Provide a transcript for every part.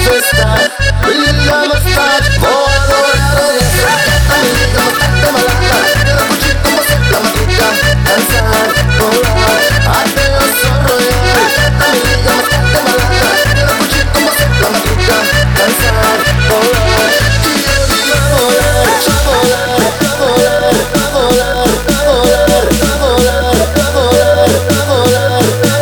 está, brilla más tarde. Voy a lograr esa amiga, bastante malata. Quiero escuchar como se la matica, danzar, volar, arte desarrollar. Amiga, bastante malata. Quiero escuchar como se la matica, danzar, volar. Quiero ir a volar, a volar, a volar, a volar, a volar, a volar, a volar, a volar, a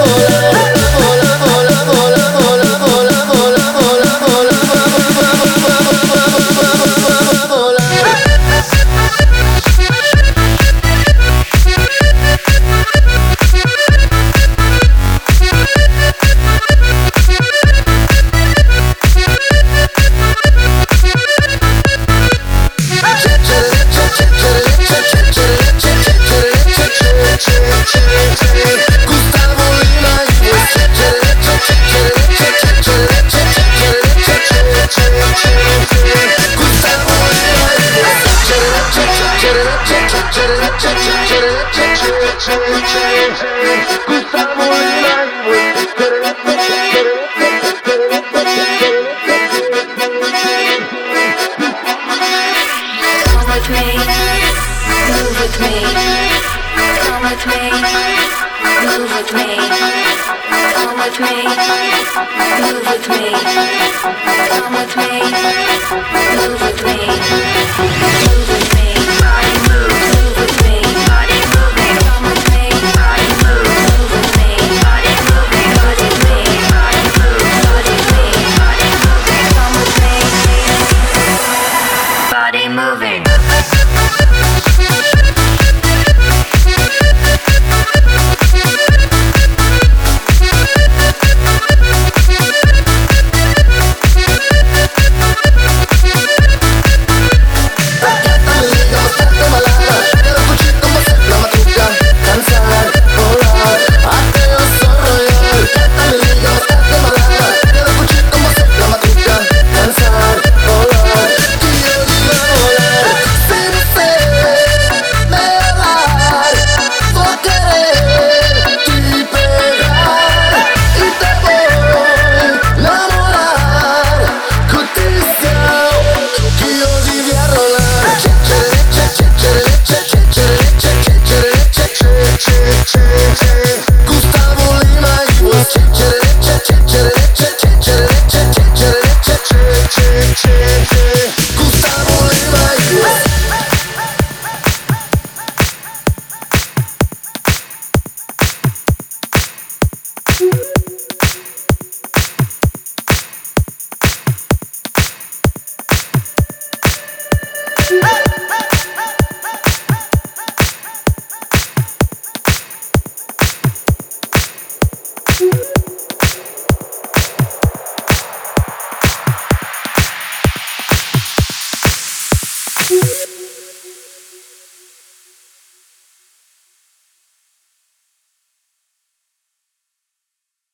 Move with me.